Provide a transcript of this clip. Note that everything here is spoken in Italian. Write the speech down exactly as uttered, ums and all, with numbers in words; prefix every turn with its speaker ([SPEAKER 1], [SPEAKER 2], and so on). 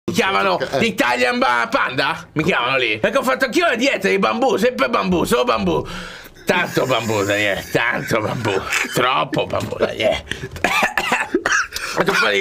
[SPEAKER 1] Mi chiamano Italian Panda? Mi chiamano lì. Perché ho fatto anch'io la dieta di bambù, sempre bambù, solo bambù. Tanto bambù, Daniele, tanto bambù. Troppo bambù, Daniele.